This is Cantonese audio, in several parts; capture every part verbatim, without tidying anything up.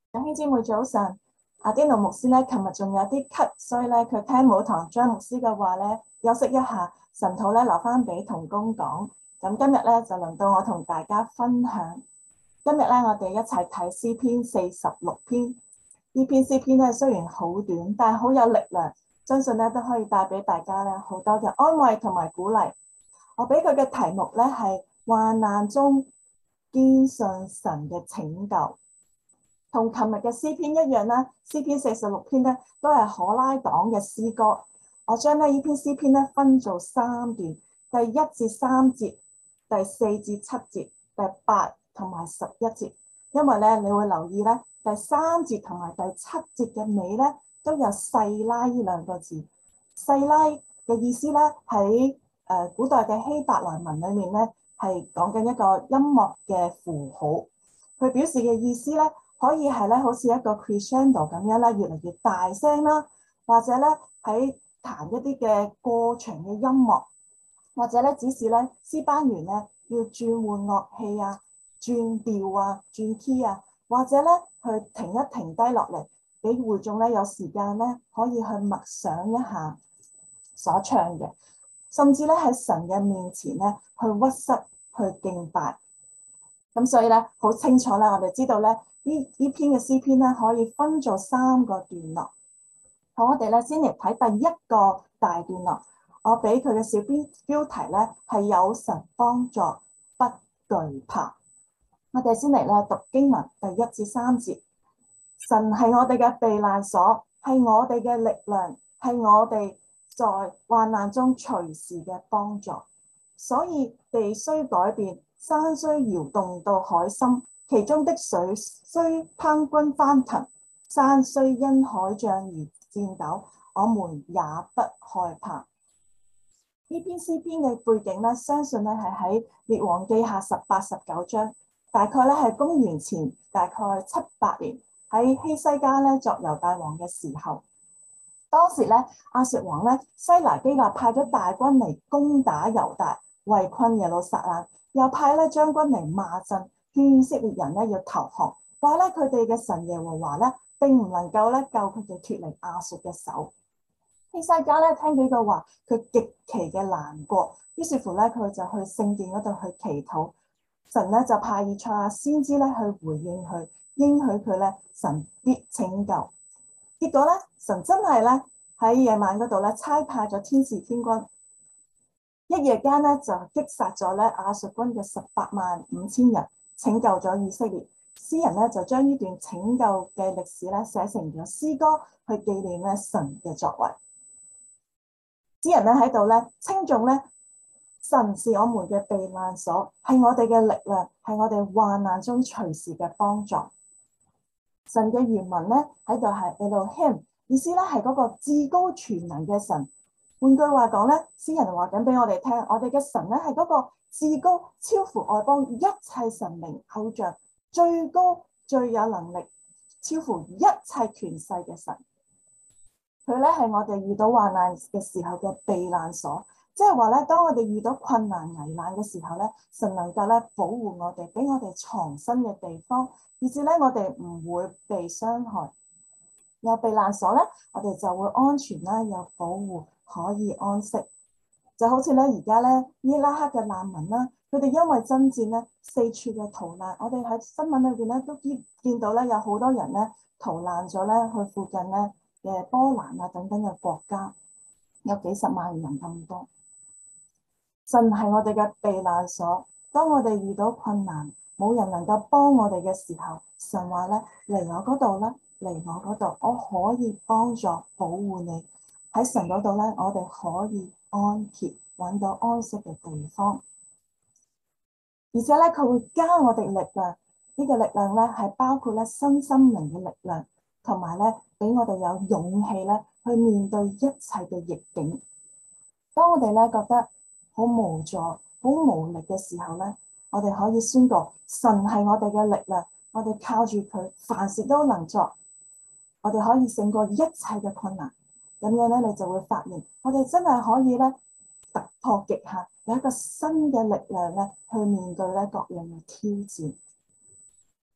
弟兄姊妹早晨，阿丁奴牧師咧，琴日仲有啲咳，所以咧佢聽母堂張牧師嘅話咧，休息一下，神土咧留翻俾同工講。咁今日咧就輪到我同大家分享。今日咧我哋一齊睇詩篇四十六篇。呢篇詩篇咧雖然好短，但係好有力量，相信咧都可以帶俾大家咧好多嘅安慰同埋鼓勵。我俾佢嘅題目咧係患難中堅信神嘅拯救。同琴日嘅詩篇一樣啦，詩篇四十六篇咧都係可拉黨嘅詩歌。我將咧呢篇詩篇咧分做三段，第一至三節、第四至七節、第八同埋十一節。因為咧你會留意咧第三節同埋第七節嘅尾咧都有細拉呢兩個字。細拉嘅意思咧喺誒古代嘅希伯來文裏面咧係講緊一個音樂嘅符號，佢表示嘅意思咧。可以係咧，好似一個 crescendo 咁樣咧，越嚟越大聲啦，或者咧喺彈一啲嘅過長嘅音樂，或者咧指示咧詩班員咧要轉換樂器啊、轉調啊、轉 key 啊，或者咧去停一停低落嚟，俾會眾咧有時間咧可以去默想一下所唱嘅，甚至咧喺神嘅面前咧去屈膝去敬拜。咁所以咧好清楚咧，我哋知道咧。呢呢篇嘅詩篇咧，可以分做三個段落。好，我哋咧先嚟睇第一個大段落。我俾佢嘅小標標題咧係有神幫助，不懼怕。我哋先嚟咧讀經文第一至三節。神係我哋嘅避難所，係我哋嘅力量，係我哋在患難中隨時嘅幫助。所以地雖改變，山雖搖動到海心。其中的水雖滂滾翻騰，山雖因海漲而顫抖，我們也不害怕。呢篇詩篇嘅背景咧，相信咧係喺列王記下十八、十九章，大概咧係公元前大概七百年，喺希西家咧作猶大王嘅時候。當時咧亞述王咧西拿基立派咗大軍嚟攻打猶大，圍困耶路撒冷，又派咧將軍嚟罵陣。勸以色列人咧要投降，話咧佢哋嘅神耶和華咧並唔能夠咧救佢哋脫離亞述嘅手。希西家咧聽呢句話，佢極其嘅難過，於是乎咧佢就去聖殿嗰度去祈禱，神咧就派以賽亞先知咧去回應佢，應許佢咧神必拯救。結果咧神真係咧喺夜晚嗰度咧差派咗天使天軍，一夜間咧就擊殺咗咧亞述軍嘅十八萬五千人。拯救咗以色列，詩人咧就將呢段拯救嘅歷史咧寫成咗詩歌，去紀念咧神嘅作為。詩人咧喺度咧稱頌咧神是我們嘅避難所，係我哋嘅力量，係我哋患難中隨時嘅幫助。神嘅原文咧喺度係 Elohim， 意思咧係嗰個至高全能嘅神。換句話講咧，詩人話緊俾我哋聽，我哋嘅神咧係嗰個至高超乎外邦一切神明偶像，最高最有能力，超乎一切權勢嘅神。佢咧係我哋遇到患難嘅時候嘅避難所，即係話咧，當我哋遇到困難危難嘅時候咧，神能夠咧保護我哋，俾我哋藏身嘅地方，以至咧我哋唔會被傷害。有避難所咧，我哋就會安全啦，有保護，可以安息。就好似咧而家咧伊拉克嘅難民啦，佢哋因為爭戰咧四處嘅逃難，我哋喺新聞裏邊咧都見見到咧有好多人咧逃難咗咧去附近咧嘅波蘭啊等等嘅國家，有幾十萬人咁多。神係我哋嘅避難所，當我哋遇到困難，冇人能夠幫我哋嘅時候，神話咧嚟我嗰度啦，嚟我嗰度，我可以幫助保護你。喺神嗰度咧，我哋可以安歇，揾到安息嘅地方。而且咧，佢會加我哋力量，呢個力量咧係包括咧身心靈嘅力量，同埋咧俾我哋有勇氣咧去面對一切嘅逆境。當我哋咧覺得好無助、好無力嘅時候咧，我哋可以宣告神係我哋嘅力量，我哋靠住佢，凡事都能做，我哋可以勝過一切嘅困難。咁樣咧，你就會發現，我哋真係可以咧突破極限，有一個新嘅力量咧去面對咧各樣嘅挑戰。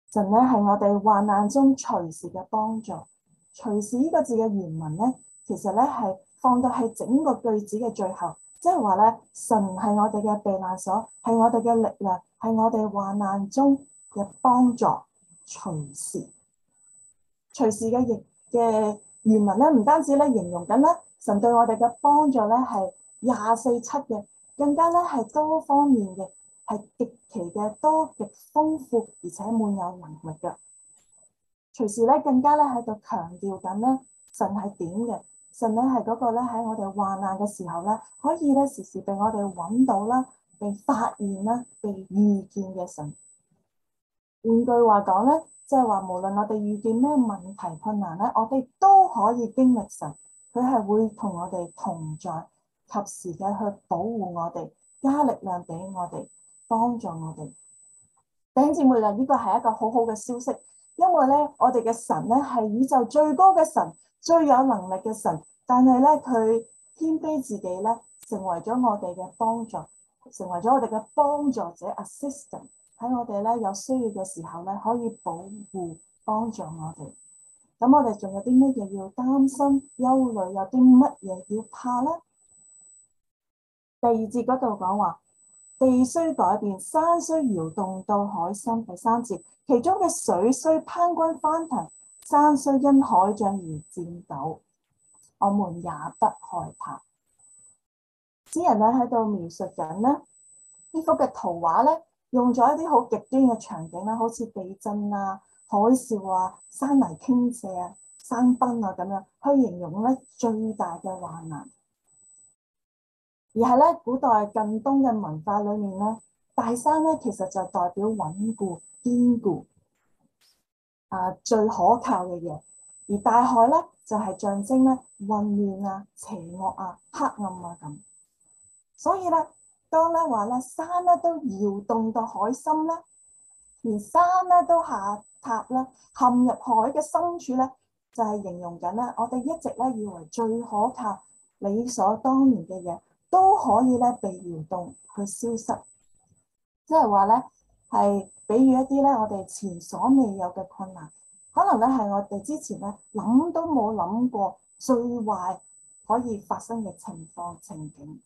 神咧係我哋患難中隨時嘅幫助。隨時呢個字嘅原文咧，其實咧係放到喺整個句子嘅最後，即係話咧，神係我哋嘅避難所，係我哋嘅力量，係我哋患難中嘅幫助。隨時，隨時嘅譯嘅原文咧，唔單止咧形容緊咧神對我哋嘅幫助咧係廿四七嘅，更加咧係多方面嘅，係極其嘅多、極豐富而且滿有能力嘅。隨時咧更加咧喺度強調緊咧神係點嘅，神咧係嗰個咧喺我哋患難嘅時候咧，可以咧時時被我哋揾到啦，被發現啦，被遇見嘅神。換句話講咧，即係話無論我哋遇見咩問題困難咧，我哋都可以經歷神，佢係會同我哋同在，及時嘅去保護我哋，加力量俾我哋，幫助我哋。弟兄姊妹啊，呢個係一個好好嘅消息，因為咧我哋嘅神咧係宇宙最高嘅神，最有能力嘅神，但係咧佢謙卑自己咧，成為咗我哋嘅幫助，成為咗我哋嘅幫助者 assistant。喺我哋咧有需要嘅時候咧，可以保護幫助我哋。咁我哋仲有啲乜嘢要擔心、憂慮？有啲乜嘢要怕咧？第二節嗰度講話，地雖改變，山雖搖動到海心。第三節，其中嘅水雖攀滾翻騰，山雖因海漲而顫抖，我們也不害怕。詩人咧喺度描述緊咧呢幅嘅圖畫咧。用咗一啲好極端嘅場景啦，好似地震啊、海嘯啊、山泥傾瀉啊、山崩啊咁樣，去形容咧最大嘅患難。而係咧古代近東嘅文化裏面咧，大山咧其實就代表穩固、堅固啊，最可靠嘅嘢；而大海咧就係、是、象徵咧混亂啊、邪惡啊、黑暗啊咁。所以咧。當咧話咧山咧都搖動到海心咧，連山咧都下塌咧，陷入海嘅深處咧，就係、是、形容緊咧，我哋一直咧以為最可靠、理所當然嘅嘢，都可以咧被搖動去消失。即係話咧係比喻一啲咧我哋前所未有嘅困難，可能咧係我哋之前咧諗都冇諗過最壞可以發生嘅情況情景。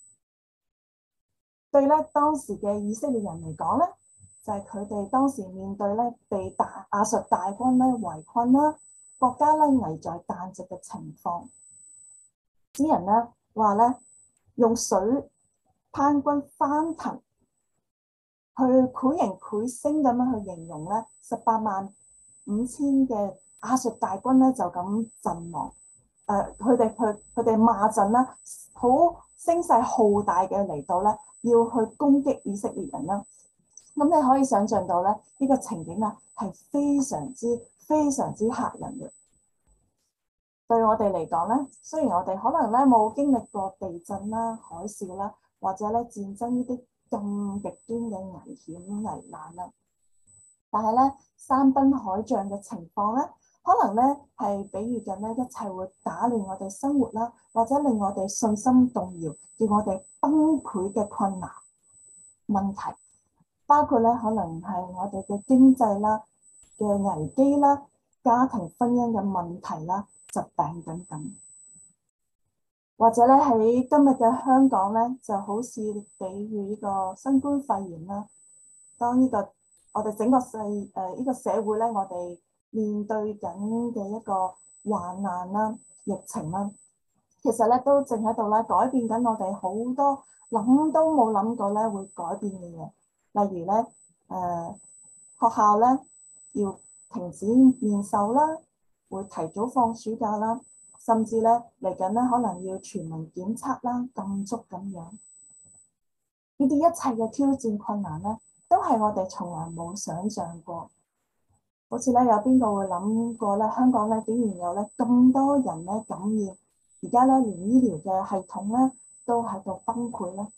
對咧當時嘅以色列人嚟講咧，就係佢哋當時面對咧被大亞述大軍咧圍困啦，國家咧危在旦夕嘅情況。詩人咧話咧用水攀滾翻騰，去繪形繪聲咁樣去形容咧十八萬五千嘅亞述大軍咧就咁陣亡。誒，佢哋佢佢哋罵陣啦，好聲勢浩大嘅嚟到咧。要去攻擊以色列人啦，咁你可以想象到咧，呢、這個情景啊係非常之非常之嚇人嘅。對我哋嚟講咧，雖然我哋可能咧冇經歷過地震啦、海嘯啦，或者咧戰爭呢啲咁極端嘅危險危難啦，但係咧山崩海漲嘅情況咧，可能咧係比喻緊咧一切會打亂我哋生活啦，或者令我哋信心動搖，叫我哋崩潰嘅困難問題，包括咧可能係我哋嘅經濟啦嘅危機啦、家庭婚姻嘅問題啦、疾病等等，或者咧喺今日嘅香港咧，就好似比喻呢個新冠肺炎啦。當呢、這個我哋整個世誒呢個社會咧，我哋面對緊嘅一個患難啦、疫情啦，其實咧都正喺度咧改變緊我哋好多諗都冇諗過咧會改變嘅嘢，例如咧誒、呃、學校咧要停止面授啦，會提早放暑假啦，甚至咧嚟緊咧可能要全民檢測啦、禁足咁樣。呢啲一切嘅挑戰困難咧，都係我哋從來冇想象過。好似咧有邊個會諗過咧，香港咧竟然有咧咁多人咧感染，而家咧連醫療嘅系統咧都喺度崩潰咧。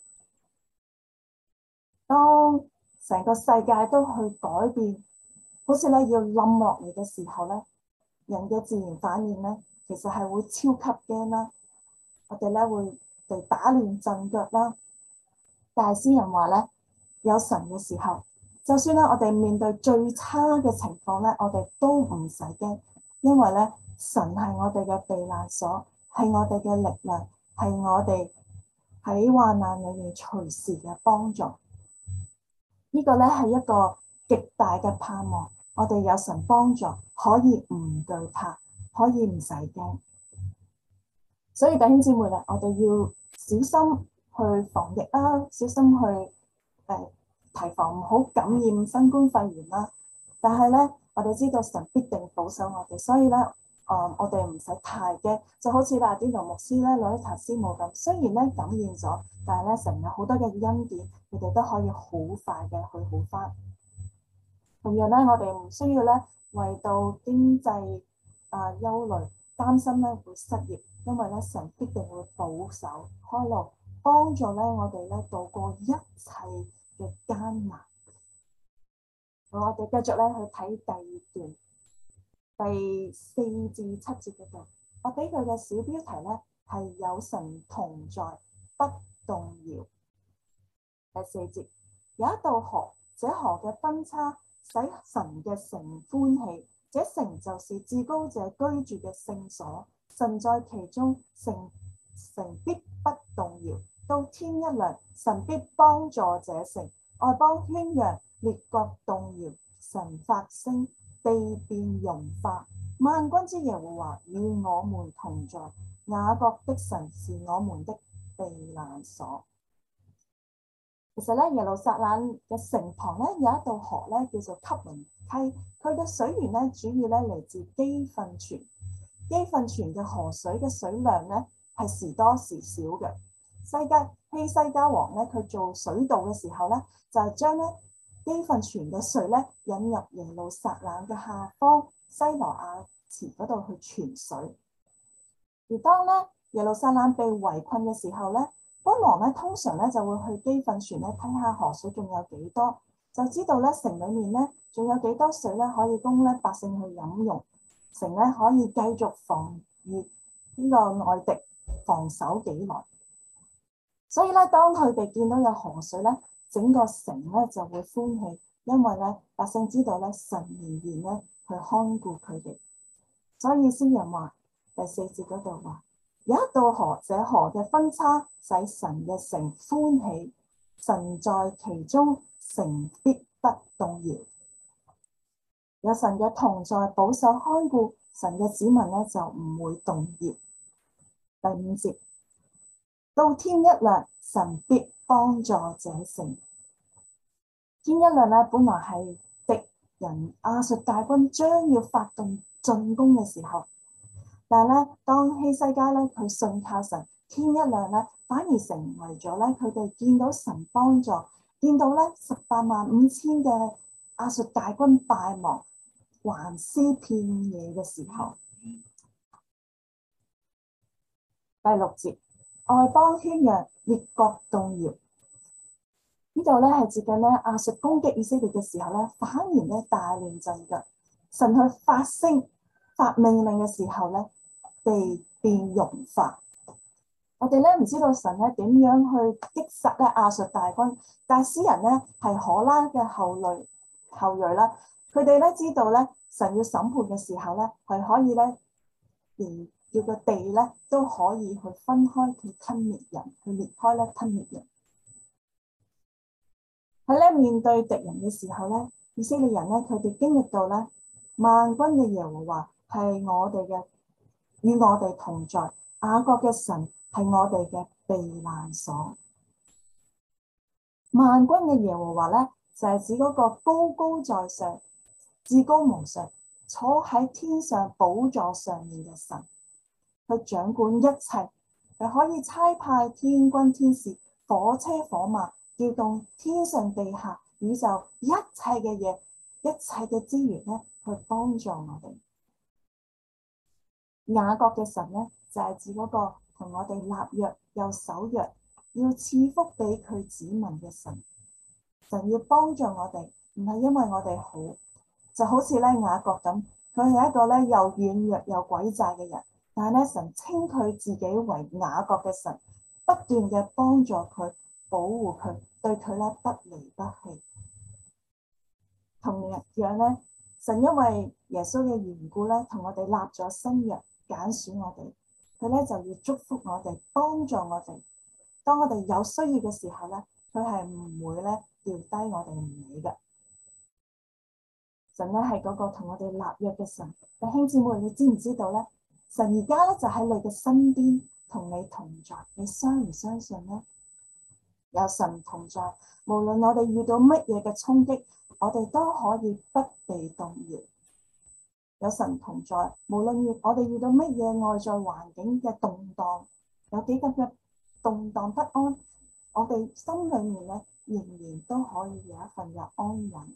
當成個世界都去改變，好似咧要冧落嚟嘅時候咧，人嘅自然反應咧，其實係會超級驚啦。我哋咧會被打亂陣腳啦。但係詩人話咧，有神嘅時候， 就算咧我哋面對最差嘅情況咧，我哋都唔使驚，因為咧神係我哋嘅避難所，係我哋嘅力量，係我哋喺患難裏面隨時嘅幫助。呢個咧係一個極大嘅盼望，我哋有神幫助，可以唔懼怕，可以唔使驚。所以弟兄姊妹咧，我哋要小心去防疫啦，小心去誒、呃、提防唔好感染新冠肺炎啦。但係咧，我哋知道神必定保守我哋，所以咧，誒、呃、我哋唔使太驚。就好似阿典奴牧師咧、羅伊塔師母咁，雖然咧感染咗，但係咧神有好多嘅恩典，佢哋都可以好快嘅去好返。同樣咧，我哋唔需要咧為到經濟啊憂慮，擔心咧會失業，因為咧神必定會保守開路，幫助咧我哋咧度過一切嘅艱難。好，我哋繼續咧去睇第二段第四至七節嗰度，我俾佢嘅小標題咧係有神同在，不動搖。第四節，有一道河，這河嘅分叉使神嘅城歡喜，這城就是至高者居住嘅聖所，神在其中，城城必不動搖。到天一亮，神必幫助這城，外邦喧嚷，列國動搖，神發聲，地便融化。萬軍之耶和華與我們同在，雅各的神是我們的避難所。其實咧，耶路撒冷嘅城旁咧有一道河咧，叫做汲淪溪。佢嘅水源咧主要咧嚟自基訓泉。基訓泉嘅河水嘅水量咧係時多時少嘅。西家希西家王咧，佢做水道嘅時候咧，就係將咧基訓泉嘅水咧引入耶路撒冷嘅下方西羅亞池嗰度去傳水。而當咧耶路撒冷被圍困嘅時候咧，君王咧通常咧就會去基訓泉咧睇下河水仲有幾多，就知道咧城裡面咧仲有幾多水咧可以供咧百姓去飲用，城咧可以繼續防禦呢個外敵，防守幾耐。所以咧，當佢哋見到有河水咧，整個城咧就會歡喜，因為咧百姓知道咧神仍然咧去看顧佢哋。所以詩人話第四節嗰度話。有一道河，這河嘅分叉使神嘅城歡喜，神在其中，城必不動搖。有神嘅同在保守看顧，神嘅子民咧就唔會動搖。第五節，到天一亮，神必幫助這城。天一亮咧，本來係敵人亞述大軍將要發動進攻嘅時候。但係咧，當希西家咧佢信靠神，天一亮咧，反而成為咗咧佢哋見到神幫助，見到咧十八萬五千嘅亞述大軍敗亡，橫屍遍野嘅時候。第六節，外邦喧嚷，列國動搖。呢度咧係接近咧亞述攻擊以色列嘅時候咧，反而咧大亂陣腳。神去發聲發命令嘅時候咧，地便融化。我哋咧唔知道神咧點樣去擊殺咧亞述大軍，但係詩人咧係可拉嘅後裔後裔啦，佢哋咧知道咧神要審判嘅時候咧係可以咧，連叫個地咧都可以去分開去吞滅人，去裂開咧吞滅人。喺咧面對敵人嘅時候咧，以色列人咧佢哋經歷到咧萬軍嘅耶和華係我哋嘅。與我哋同在，雅各嘅神係我哋嘅避難所。萬軍嘅耶和華咧，就係指嗰個高高在上、至高無上、坐喺天上寶座上面嘅神，佢掌管一切，佢可以差派天軍天使、火車火馬，調動天上地下宇宙一切嘅嘢、一切嘅資源咧，去幫助我哋。雅各嘅神咧，就係、是、指嗰個同我哋立約又守約，要賜福俾佢子民嘅神。神要幫助我哋，唔係因為我哋好，就好似咧雅各咁，佢係一個咧又軟弱又詭詐嘅人，但係咧神稱佢自己為雅各嘅神，不斷嘅幫助佢、保護佢，對佢咧不離不棄。 同樣咧，神因為耶穌嘅緣故咧，同我哋立咗新約，揀選我哋，佢咧就要祝福我哋，幫助我哋。當我哋有需要嘅時候咧，佢係唔會咧掉低我哋唔理嘅。神咧係嗰個同我哋立約嘅神。弟兄姊妹，你知唔知道咧？神而家咧就喺你嘅身邊，同你同在。你相唔相信咧？有神同在，無論我哋遇到乜嘢嘅衝擊，我哋都可以不被動搖。有神同在，無論我哋遇到乜嘢外在環境嘅動盪，有幾咁嘅動盪不安，我哋心裏面咧仍然都可以有一份嘅安穩。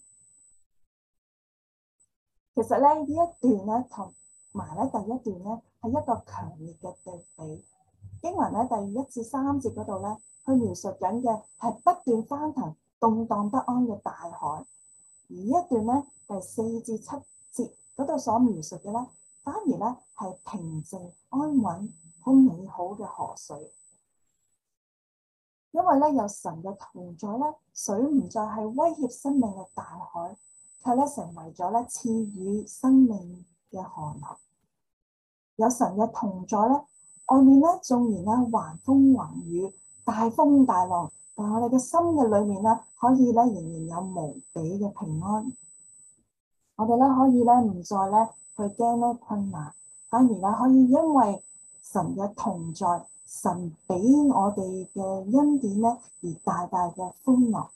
其實咧呢一段咧同埋咧第一段咧係一個強烈嘅對比。經文咧第一至三節嗰度咧，佢描述緊嘅係不斷翻騰、動盪不安嘅大海；而一段咧第四至七節嗰度所描述嘅咧，反而咧係平靜、安穩、好美好嘅河水。因為咧有神嘅同在咧，水唔再係威脅生命嘅大海，佢咧成為咗咧賜予生命嘅河流。有神嘅同在咧，外面咧縱然咧橫風橫雨、大風大浪，但係我哋嘅心嘅裏面咧，可以咧仍然有無比嘅平安。我哋咧可以咧唔再咧去驚咧困難，反而咧可以因為神嘅同在，神俾我哋嘅恩典咧而大大嘅歡樂。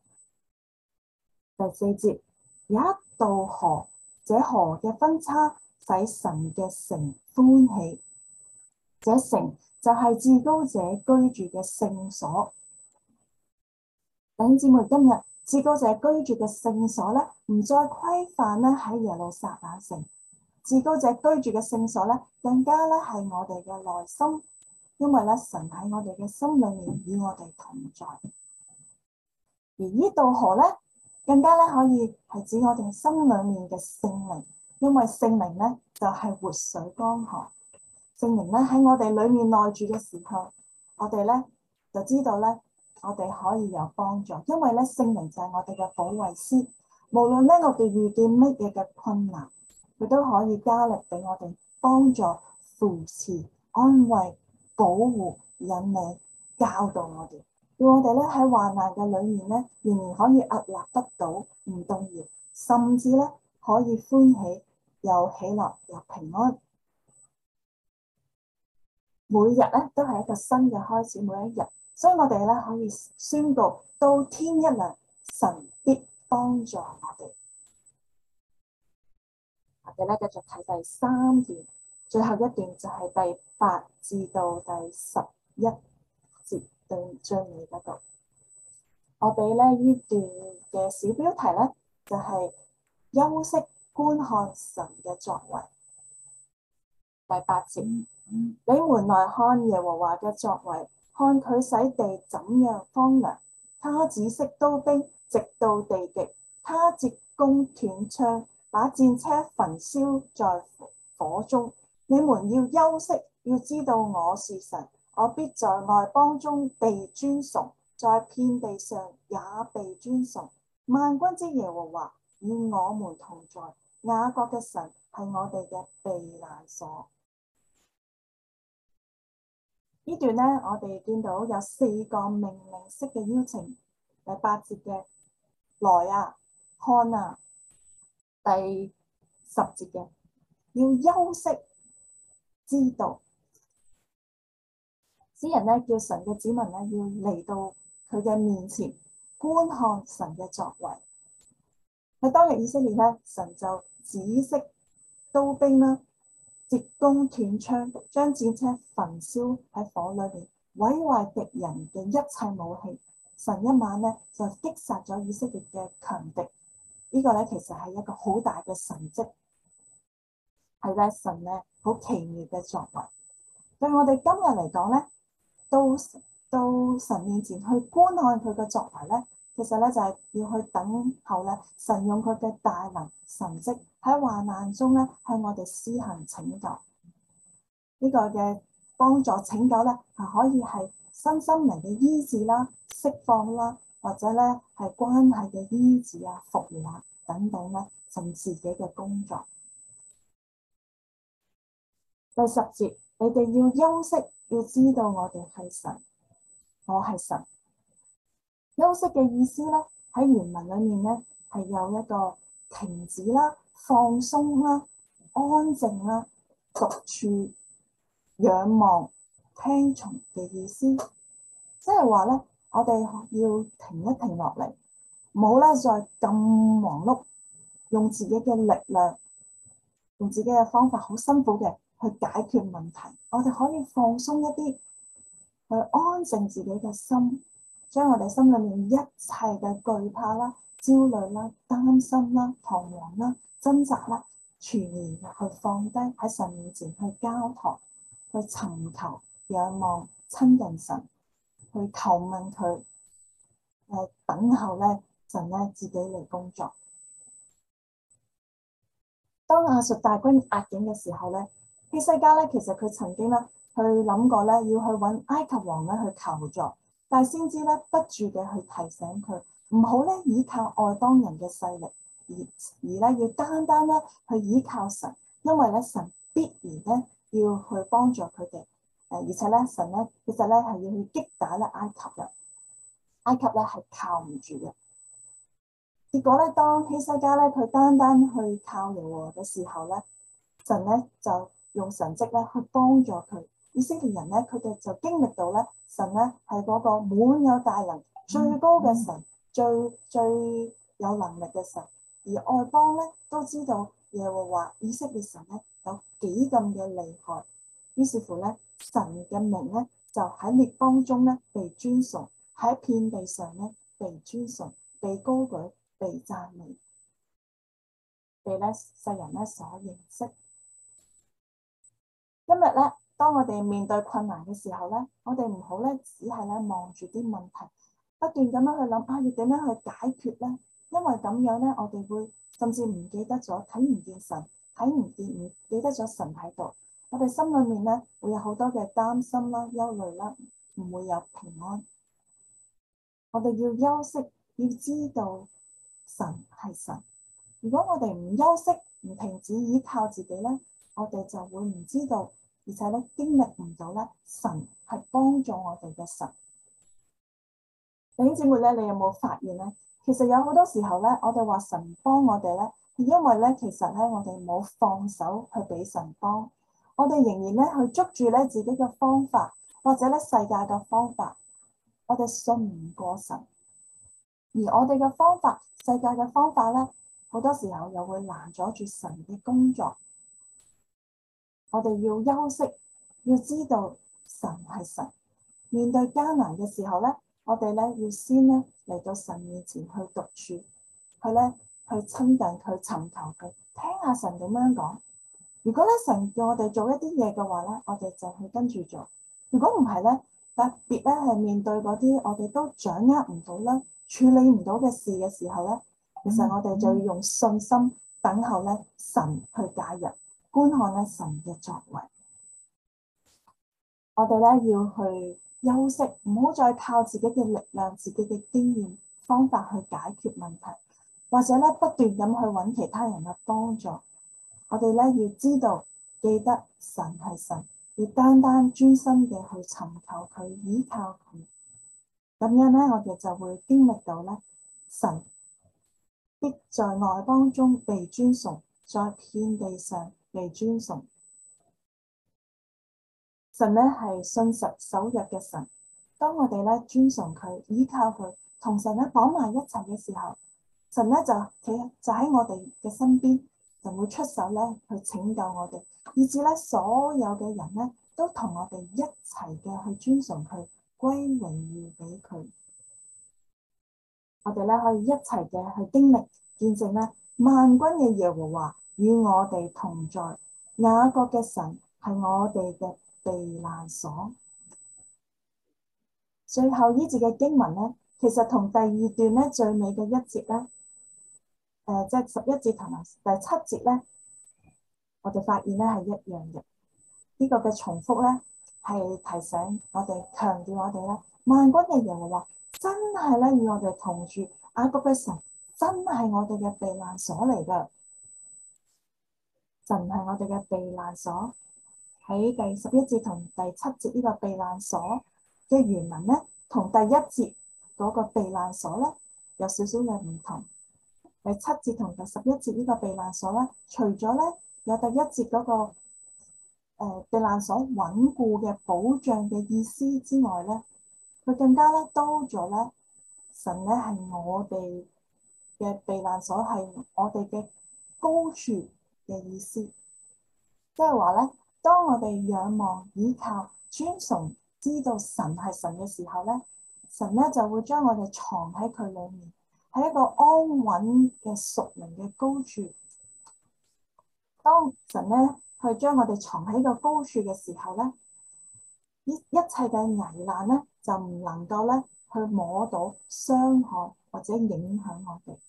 第四節，有一道河，這河嘅分叉使神嘅城歡喜。這城就係至高者居住嘅聖所。弟兄姊妹，今日至高者居住嘅聖所咧，唔再規範咧喺耶路撒冷城。至高者居住嘅聖所咧，更加咧係我哋嘅內心，因為咧神喺我哋嘅心裏面與我哋同在。而呢道河咧，更加咧可以係指我哋心裏面嘅聖靈，因為聖靈咧就係活水江河。聖靈咧喺我哋裏面內住嘅時候，我哋咧就知道咧，我哋可以有幫助，因為咧聖靈就係我哋嘅保惠師。無論咧我哋遇見乜嘢嘅困難，佢都可以加力俾我哋幫助、扶持、安慰、保護、引領、教導我哋，叫我哋咧喺患難嘅裏面咧，仍然可以屹立不倒、唔動搖，甚至咧可以歡喜、又喜樂又平安。每日咧都係一個新嘅開始，每一日，所以我哋咧可以宣告到天一亮，神必幫助我哋。我哋咧繼續睇第三段，最後一段就係第八至到第十一節對最尾嗰度。我哋咧呢段嘅小標題咧就係、是、休息觀看神嘅作為。第八節。你們來看耶和華嘅作為，看佢使地怎樣荒涼。他止息刀兵，直到地極。他折弓斷槍，把戰車焚燒在火中。你們要休息，要知道我是神，我必在外邦中被尊崇，在遍地上也被尊崇。萬軍之耶和華與我們同在，雅各嘅神係我哋嘅避難所。呢段咧，我哋見到有四個命令式嘅邀請。第八節嘅來啊，看啊；第十節嘅要休息，知道。詩人咧叫神嘅子民咧要嚟到佢嘅面前觀看神嘅作為。喺當日以色列咧，神就止息刀兵啦，折弓斷槍，將戰車焚燒喺火裏面，毀壞敵人嘅一切武器。神一晚咧就擊殺咗以色列嘅強敵。呢、這個咧其實係一個好大嘅神蹟，係咧神咧好奇妙嘅作為。對我哋今日嚟講咧，到到神面前去觀看佢嘅作為咧，其實咧就係、是、要去等候咧神用佢嘅大能神蹟喺患難中咧向我哋施行拯救。呢、這個嘅幫助拯救咧係可以係身心靈嘅醫治啦、釋放啦，或者咧係關係嘅醫治啊、復原啊， 等等咧，神自己嘅工作。第十節，你哋要休息，要知道我哋係神，我係神。休息嘅意思咧，喺原文裏面咧係有一個停止啦、放鬆啦、安靜啦、獨處、仰望、聽從嘅意思。即係話咧，我哋要停一停落嚟，唔好咧再咁忙碌，用自己嘅力量，用自己嘅方法，好辛苦嘅去解決問題。我哋可以放鬆一啲，去安靜自己嘅心。將我哋心裏面一切嘅懼怕啦、焦慮啦、擔心啦、彷徨啦、掙扎啦，全然去放低喺神面前去交託，去尋求、仰望、親近神，去求問佢，誒等候咧神咧自己嚟工作。當亞述大軍壓境嘅時候咧，希西家咧其實佢曾經咧去諗過咧要去揾埃及王咧去求助。但係先知咧，不住嘅去提醒佢，唔好咧依靠外邦人嘅勢力，而而咧要單單咧去依靠神，因為咧神必然咧要去幫助佢哋。誒，而且咧神咧其實咧係要去擊打咧埃及嘅，埃及咧係靠唔住嘅。結果咧，當希西家咧佢單單去靠耶和華嘅時候咧，神咧就用神蹟咧去幫助佢。以色列人咧，佢哋就經歷到咧，神咧係嗰個滿有大能、最高嘅神，最最有能力嘅神。而外邦咧都知道耶和華以色列神咧有幾咁嘅厲害，於是乎咧，神嘅名咧就喺列邦中咧被尊崇，喺遍地上咧被尊崇、被高舉、被讚美，被咧世人咧所認識。今日咧，當我哋面對困難嘅時候咧，我哋唔好咧，只係咧望住啲問題，不斷咁樣去諗啊，要點樣去解決咧？因為咁樣咧，我哋會甚至唔記得咗，睇唔見神，睇唔見唔記得咗神喺度。我哋心裏面咧會有好多嘅擔心啦、憂慮啦，唔會有平安。我哋要休息，要知道神係神。如果我哋唔休息，唔停止依靠自己咧，我哋就會唔知道，而且咧經歷唔到咧神係幫助我哋嘅神。弟兄姊妹咧，你有冇發現咧？其實有好多時候咧，我哋話神幫我哋咧，係因為咧，其實咧我哋冇放手去俾神幫，我哋仍然咧去捉住咧自己嘅方法，或者咧世界嘅方法，我哋信唔過神，而我哋嘅方法、世界嘅方法咧，好多時候又會攔阻住神嘅工作。我哋要休息，要知道神係神。面對艱難嘅時候咧，我哋咧要先咧嚟到神面前去獨處，去咧去親近佢、尋求佢，聽下神點樣講。如果咧神叫我哋做一啲嘢嘅話咧，我哋就去跟住做。如果唔係咧，特別咧係面對嗰啲我哋都掌握唔到啦、處理唔到嘅事嘅時候咧，其實我哋就要用信心等候咧神去介入。觀看咧神嘅作為，我哋咧要去休息，唔好再靠自己嘅力量、自己嘅經驗方法去解決問題，或者咧不斷咁去揾其他人嘅幫助。我哋咧要知道，記得神係神，要單單專心嘅去尋求佢、依靠佢。咁樣咧，我哋就會經歷到咧神必在外邦中被尊崇，在遍地上被尊崇。神咧係信實守約嘅神，當我哋咧尊崇佢、依靠佢、同神咧綁埋一齊嘅時候，神咧就企就喺我哋嘅身邊，就會出手咧去拯救我哋，以至咧所有嘅人咧都同我哋一齊嘅去尊崇佢、歸榮耀俾佢。我哋咧可以一齊嘅去經歷見證咧萬軍嘅耶和華與我哋同在，雅各嘅神係我哋嘅避難所。最後呢節嘅經文咧，其實同第二段咧最尾嘅一節咧，誒、呃，即係十一節同埋第七節咧，我哋發現咧係一樣嘅。呢、這個嘅重複咧係提醒我哋、強調我哋咧，萬軍嘅耶和華真係咧與我哋同住，雅各嘅神真係我哋嘅避難所嚟㗎。神係我哋嘅避難所。喺第十一節同第七節呢個避難所嘅原文咧，同第一節嗰個避難所咧有少少嘅唔同。第七節同第十一節呢個避難所咧，除咗咧有第一節嗰、那個誒、呃、避難所穩固嘅保障嘅意思之外咧，佢更加咧多咗咧，神咧係我哋嘅避難所，係我哋嘅高處嘅意思。即係話咧，當我哋仰望、倚靠、尊崇，知道神係神嘅時候咧，神咧就會將我哋藏喺佢裏面，喺一個安穩嘅屬靈嘅高處。當神咧去將我哋藏喺個高處嘅時候咧，呢一切嘅危難咧就唔能夠咧去摸到、傷害或者影響我哋。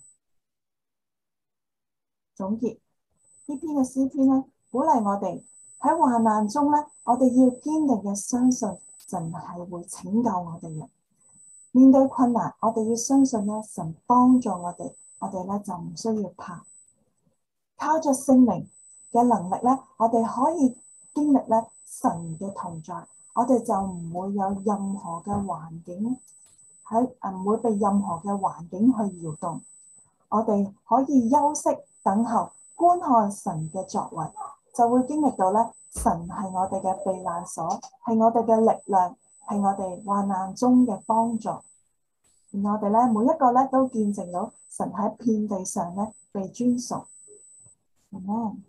總結呢篇嘅詩篇咧，鼓勵我哋喺患難中咧，我哋要堅定嘅相信神係會拯救我哋嘅。面對困難，我哋要相信咧，神幫助我哋，我哋咧就唔需要怕。靠着聖靈嘅能力咧，我哋可以經歷咧神嘅同在，我哋就唔會有任何嘅環境喺唔會被任何嘅環境去搖動。我哋可以休息等候，觀看神嘅作為，就會經歷到咧，神係我哋嘅避難所，係我哋嘅力量，係我哋患難中嘅幫助。而我哋咧，每一個咧都見證到神喺遍地上咧被尊崇。嗯，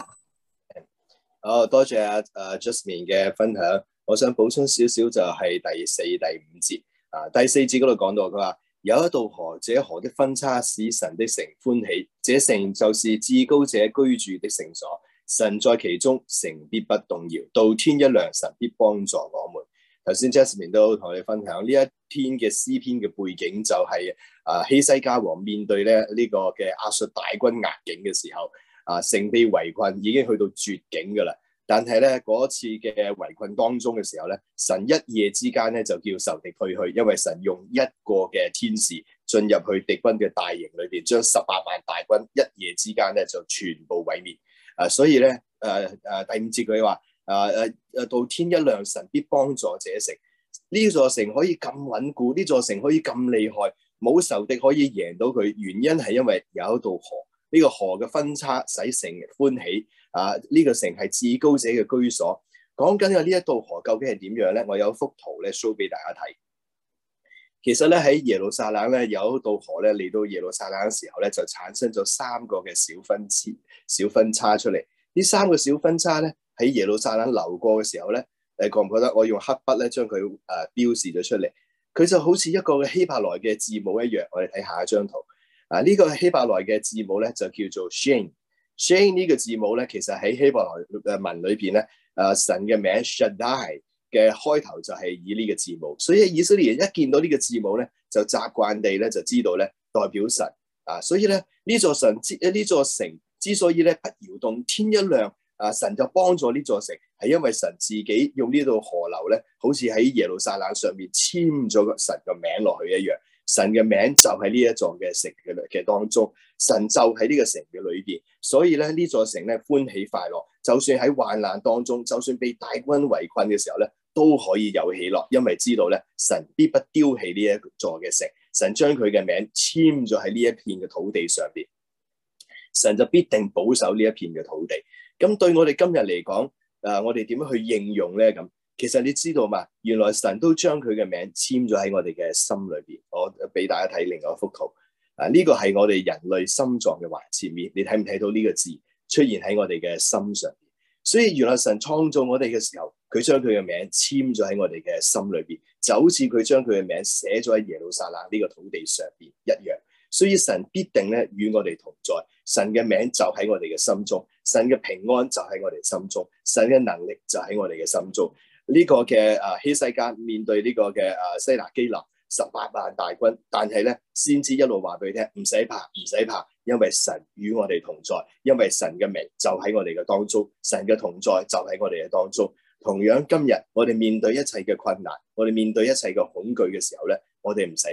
好，多謝阿阿 Jasmine 嘅分享。我想補充少少就係第四、第五節啊。第四節嗰度講到佢話，有一道河，這河的分叉使神的城歡喜，這城就是至高者居住的聖所。神在其中，城必不動搖。到天一亮，神必幫助我們。頭先 Jasmine 都同我哋分享呢一篇嘅詩篇嘅背景就係、是、啊希西家王面對咧呢、這個嘅亞述大軍壓境嘅時候，啊城被圍困已經去到絕境噶啦。但係咧嗰次嘅圍困當中嘅時候咧，神一夜之間咧就叫仇敵退去，因為神用一個嘅天使進入去敵軍嘅大營裏邊，將十八萬大軍一夜之間咧就全部毀滅。啊，所以咧誒誒第五節佢話。啊誒誒，到天一亮，神必幫助這城。呢座城可以咁穩固，呢座城可以咁厲害，冇仇敵可以贏到佢。原因係因為有一道河，呢、這個河嘅分叉使城歡喜。啊，呢、這個城係至高者嘅居所。講緊嘅呢一道河究竟係點樣咧？我有一幅圖咧 show 俾大家睇。其實咧喺耶路撒冷咧有一道河咧嚟到耶路撒冷嘅時候咧就產生咗三個嘅小分叉小分叉出嚟。呢三個小分叉咧。喺耶路撒冷流過嘅時候咧，誒覺唔覺得我用黑筆咧將佢誒標示咗出嚟？佢就好似一個希伯來嘅字母一樣。我哋睇下一張圖。啊，呢、這個希伯來嘅字母咧就叫做 Shin。Shin 呢個字母咧，其實喺希伯來文裏邊咧，誒、啊、神嘅名 Shaddai 嘅開頭就係以呢個字母。所以以色列人一見到呢個字母咧，就習慣地咧就知道咧代表神。啊，所以咧呢座神之呢座城之所以咧不搖動，天一亮。啊！神就幫助呢座城，係因為神自己用呢道河流咧，好似喺耶路撒冷上面簽咗個神嘅名落去一樣。神嘅名就喺呢一座嘅城嘅嘅當中，神就喺呢個城嘅裏邊。所以咧呢座城咧歡喜快樂，就算喺患難當中，就算被大軍圍困嘅時候咧，都可以有喜樂，因為知道咧神必不丟棄呢一座嘅城，神將佢嘅名簽咗喺呢一片嘅土地上邊，神就必定保守呢一片嘅土地。咁對我哋今日嚟講，誒、呃，我哋點樣去應用咧？咁其實你知道嘛？原來神都將佢嘅名簽咗喺我哋嘅心裏邊。我俾大家睇另外一幅圖。啊，呢、這個係我哋人類心臟嘅橫切面。你睇唔睇到呢個字出現喺我哋嘅心上邊？所以原來神創造我哋嘅時候，佢將佢嘅名簽咗喺我哋嘅心裏邊，就好似佢將佢嘅名寫咗喺耶路撒冷呢個土地上邊一樣。所以神必定咧與我哋同在，神嘅名就喺我哋嘅心中，神嘅平安就喺我哋心中，神嘅能力就喺我哋嘅心中。呢、這個嘅啊希西家面對呢個嘅啊西拿基立十八萬大軍，但係咧先知一路話俾佢聽，唔使怕，唔使怕，因為神與我哋同在，因為神嘅名就喺我哋嘅當中，神嘅同在就喺我哋嘅當中。同樣今日我哋面對一切嘅困難，我哋面對一切嘅恐懼嘅時候咧，我哋唔使怕。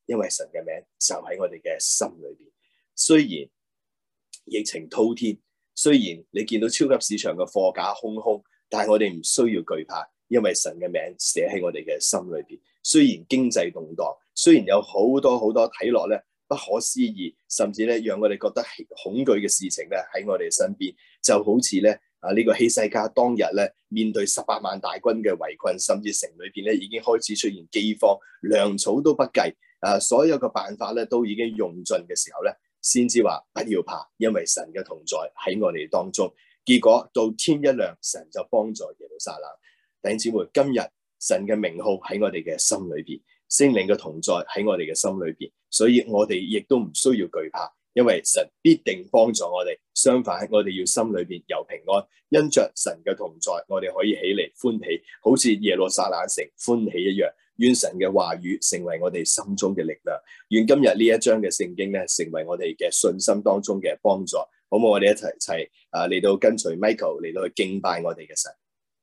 因為神嘅名就喺我哋嘅心裏邊。雖然疫情滔天，雖然你見到超級市場嘅貨架空空，但係我哋唔需要懼怕，因為神嘅名寫喺我哋嘅心裏邊。雖然經濟動盪，雖然有好多好多睇落咧不可思議，甚至咧讓我哋覺得恐懼嘅事情咧喺我哋身邊，就好似咧啊呢、這個希西家當日咧面對十八萬大軍嘅圍困，甚至城裏邊咧已經開始出現饑荒，糧草都不計，啊所有嘅辦法咧都已經用盡嘅時候咧，先至話不要怕，因為神嘅同在喺我哋當中。結果到天一亮，神就幫助耶路撒冷。弟兄姊妹，今日神嘅名號喺我哋嘅心裏邊，聖靈嘅同在喺我哋嘅心裏邊，所以我哋亦都唔需要懼怕，因為神必定幫助我哋。相反，我哋要心裏邊有平安，因着神嘅同在，我哋可以起嚟歡喜，好似耶路撒冷城歡喜一樣。願神嘅話語成為我哋心中嘅力量，願今日呢一章嘅聖經咧，成為我哋嘅信心當中嘅幫助。好唔好？我哋一齊齊啊嚟到跟隨 Michael 嚟到去敬拜我哋嘅神。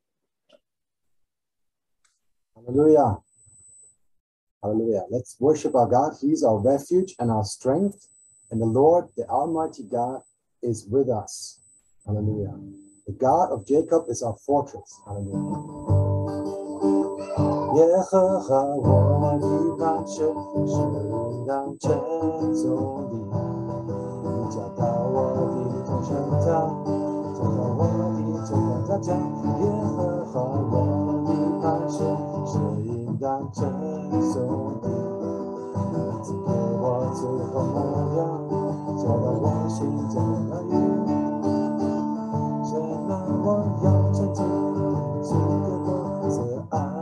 Hallelujah. Hallelujah. Let's worship our God. He's our refuge and our strength. And the Lord, the Almighty God, is with us. Hallelujah. The God of Jacob is our fortress. Hallelujah. 耶和华我的磐石，是让称颂的。你找到我的众生堂，找到我的最高大将。耶和华我的磐石，是应当称颂的。你赐给我最后模样，找到我心中的乐语。神啊，我要称颂这个我最爱。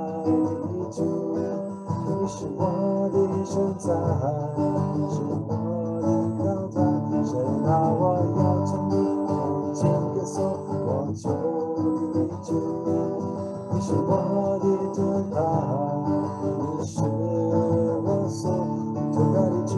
你是我的神在，是我的高台。神啊，我要称你，用尽歌颂我救你主。你是我的盾牌，你是我所投靠的主。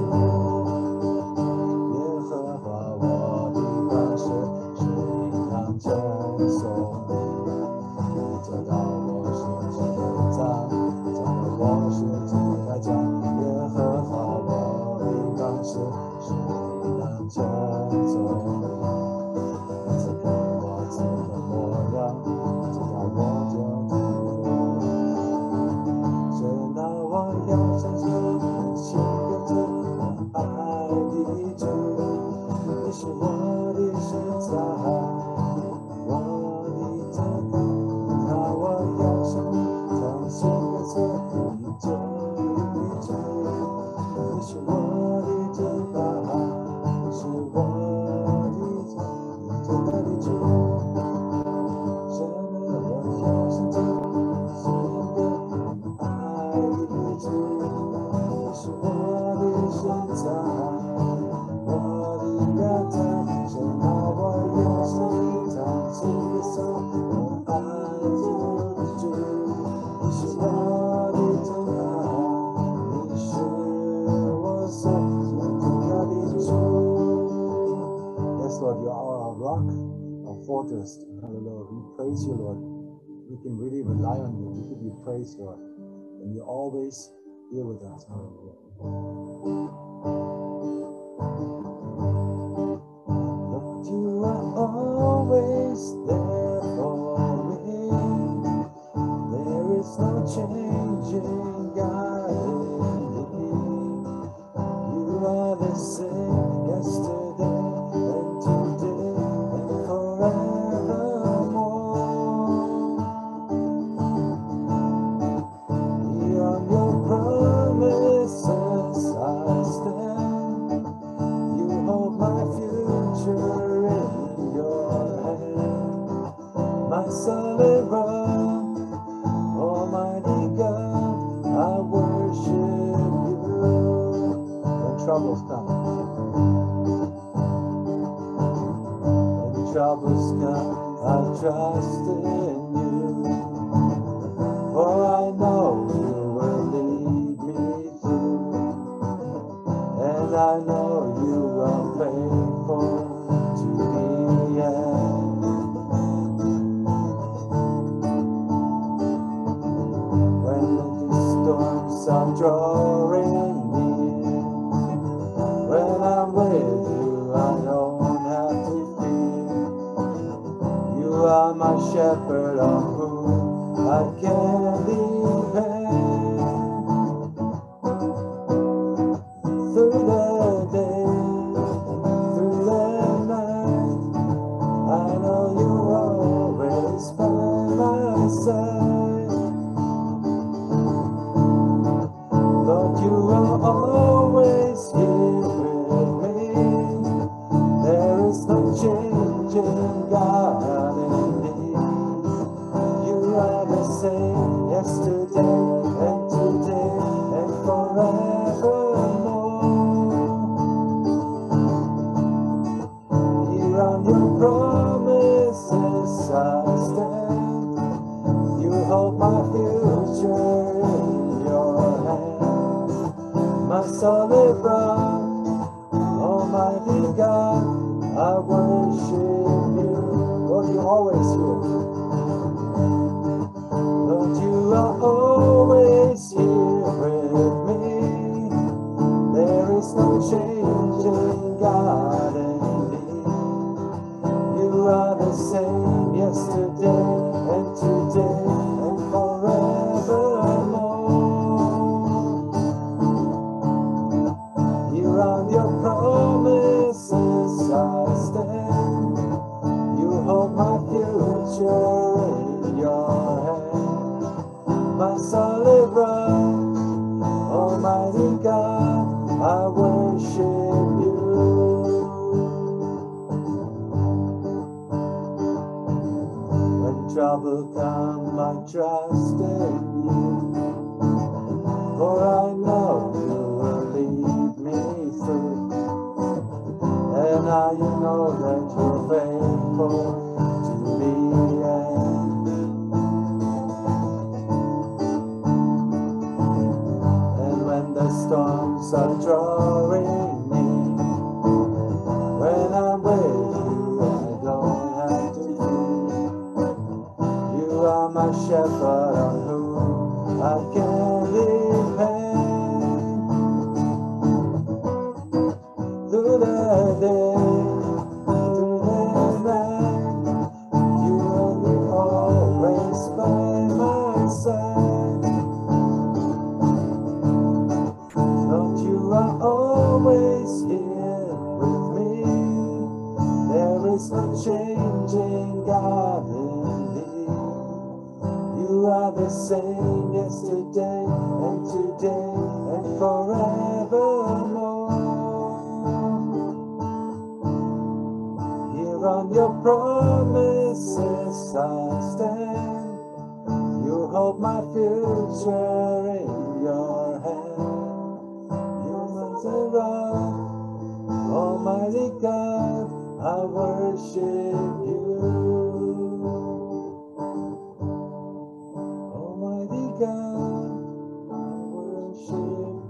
耶和华我的磐石，是应当称颂的。你找到我心中的藏。我是主来讲，耶和华我的磐石，是应当称颂的。赐给我自的模样，直到我就听。神啊，我要相信你是个真爱的主，你是我的神在，我的真爱。那我要向你唱新歌颂。这一切，你是我的真爱，是我的真，最大的主。神啊，我要伸出是一个爱的主，你是我的神在，我的高台。神啊，我要向你唱新歌颂，我爱的主，你是我。Lord, you are our rock, our fortress. Hallelujah. We praise you, Lord. We can really rely on you. We give you praise, Lord. And you're always here with us. Hallelujah. Lord, you are always there for me. There is no changing God in me. You are the same yesterday. Troubles come. When troubles come, I trust in you. For I know you will lead me through. And I know you are faithful to the end. When the storms are drawing near, are my shepherd on whom I can depend. Through the day, through the night, I know you always by my side. Lord, you are always here with me. There is no change in God in me. You are the same yesterday and today and forevermore. Here on your promises I stand. You hold my future in your hand. My solid rock, Almighty God, I worship you. Lord, you're always here. Lord, you are always here with me. There is no change in God and me. You are the same yesterday and today and forevermore. Here on your promises I stand. You hold my future in your hand. My solid rock, Almighty God, I worship you. When trouble comes, I trust in you. For I know you will lead me through. And now you know that you're faithful to the end. And when the storms are drawing near, when I'm with you, I don't have to fear. You are my shepherd on whom I can depend. Through the day, through the night, you will be always by my side. Lord, you are always here with me. There is no change in God in me. You are the same yesterday and today and forevermore. Here on your promises I stand. You hold my future in your hand. You are the rock, Almighty God, I worship you. Almighty God, I worship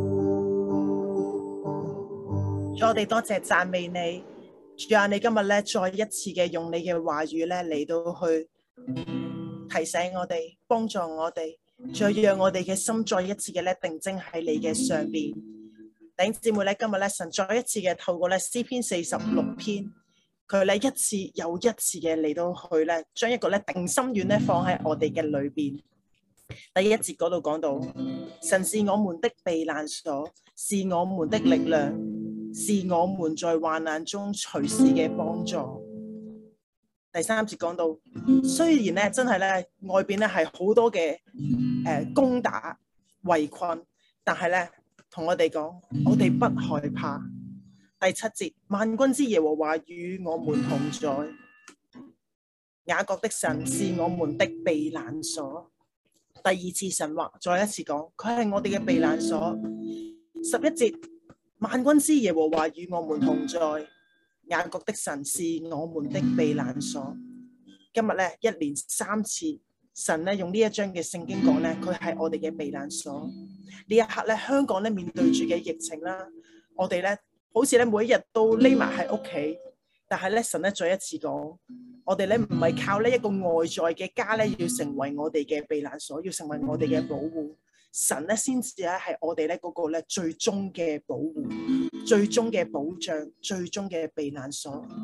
you. 主，我哋多謝讚美你。主啊，你今日咧再一次嘅用你嘅話語咧嚟到去提醒我哋，幫助我哋，再讓我哋嘅心再一次嘅咧定睛喺你嘅上邊。弟兄姊妹咧，今日咧神再一次嘅透過咧詩篇四十六篇，佢咧一次又一次嘅嚟到去咧將一個咧定心丸咧放喺我哋嘅裏邊。第一節嗰度講到，神是我們的避難所，是我們的力量，是我們在患難中隨時嘅幫助。第三節講到，雖然咧真係咧外邊咧係好多嘅誒、呃、攻打圍困，但係咧同我哋講，我哋不害怕。第七節，萬軍之耶和華與我們同在，雅各的神是我們的避難所。第二次神話，再一次講，佢係我哋嘅避難所。十一節，萬軍之耶和華與我們同在，雅各的神是我們的避難所。今日咧一連三次，神咧用呢一章嘅聖經講咧，佢係我哋嘅避難所。呢一刻咧，香港咧面對住嘅疫情啦，我哋咧好似咧每一日都匿埋喺屋企，但係咧神咧再一次講，我哋咧唔係靠呢一個外在嘅家咧，要成為我哋嘅避難所，要成為我哋嘅保護。神咧先至咧係我哋咧嗰個咧最終嘅保護、最終嘅保障、最終嘅避難所。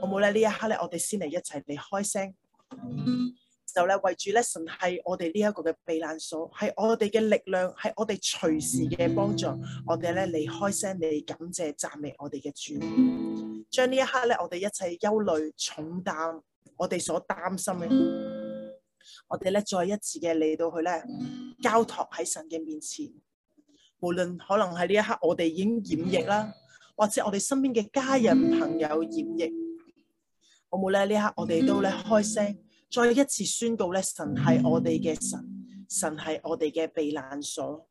好冇咧？呢一刻咧，我哋先嚟一齊嚟開聲，就咧為住咧神係我哋呢一個嘅避難所，係我哋嘅力量，係我哋隨時嘅幫助。我哋咧嚟開聲嚟感謝讚美我哋嘅主，將呢一刻咧我哋一切憂慮重擔，我哋所擔心嘅，我哋咧再一次嘅嚟到去咧交託喺神嘅面前。無論可能喺呢一刻我哋已經染疫啦，或者我哋身邊嘅家人朋友染疫，好冇咧？呢一刻我哋都咧開聲，再一次宣告咧，神係我哋嘅神，神係我哋嘅避難所。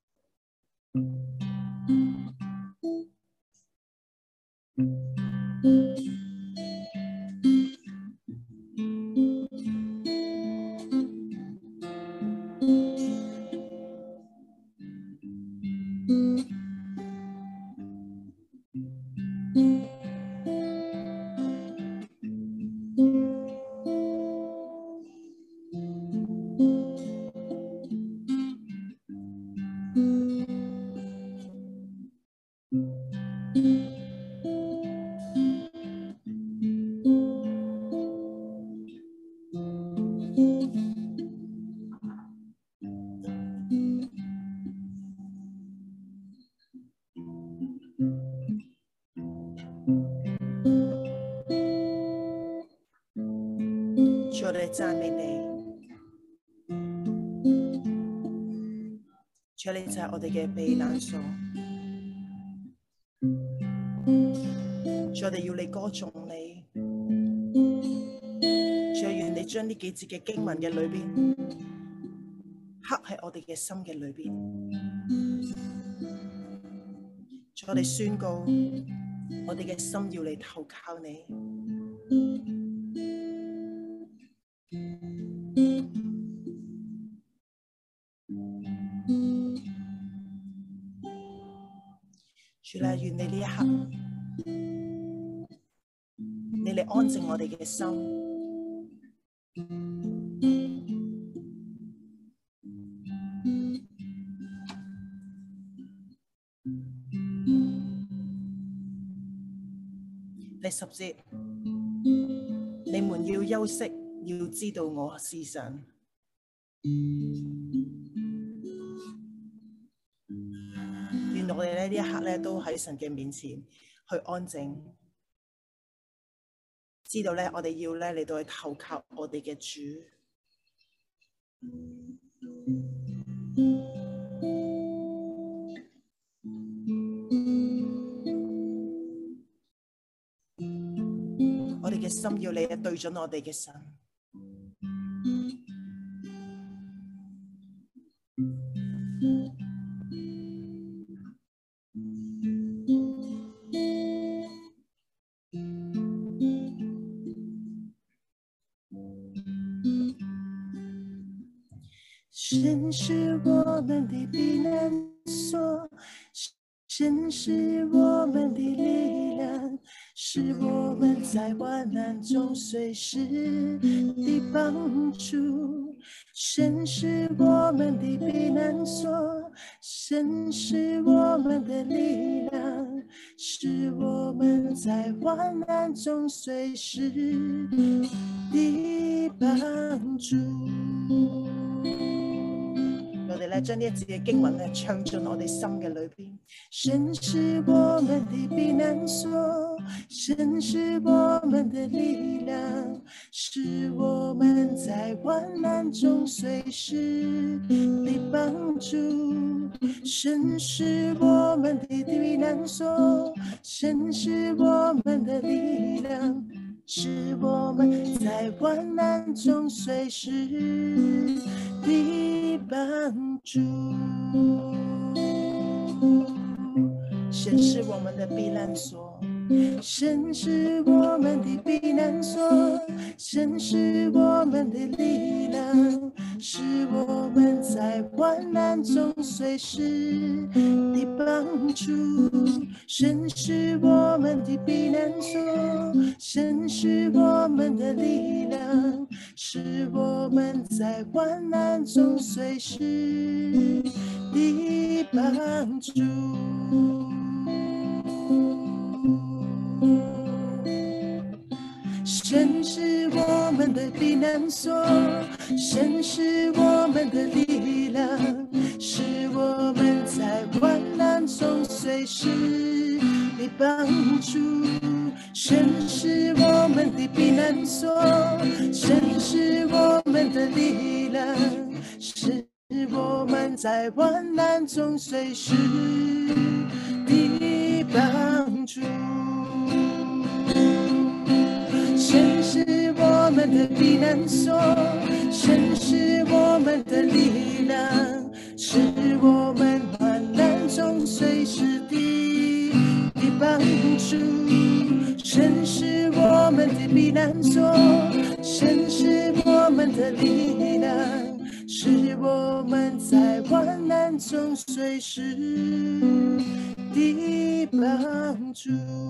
主，我哋讚美你，主，你就係我哋嘅避難所。主，我哋要你歌頌你。主，願你將呢幾節嘅經文嘅裏邊，刻喺我哋嘅心嘅裏邊。主，我哋宣告，我哋嘅心要嚟投靠你。主啦，願你呢一刻，你嚟安靜我哋嘅心，第十節，你們要休息，要知道我是神。願我哋咧呢一刻咧都喺神嘅面前去安靜，知道咧我哋要咧嚟到去投靠我哋嘅主。我哋嘅心要你對準我哋嘅神。神是我們的避難所，神是我們的力量，是我們在患難中隨時的幫助。神是我們的避難所，神是我們的力量，是我們在患難中隨時的幫助。我哋咧將呢一節嘅經文咧唱進我哋心嘅裏邊。神是我們的避難所，神是我們的力量，是我們在患難中隨時的幫助。神是我們的避難所，神是我們的力量，是我們在患難中隨時的幫助。神是我們的避難所，神是我們的避難所，神是我們的力量，是我們在患難中隨時的幫助。神是我們的避難所，神是我們的力量，是我們在患難中隨時的幫助。 神是我们的避难所，神是我们的力量，是我们在患难中随时的帮助。神是我们的避难所，神是我们的力量，是我们在患难中随时的帮助。神是我们的避难所，神是我们的力量，是我们患难中随时的的帮助。神是我们的避难所，神是我们的力量，是我们在患难中随时的帮助。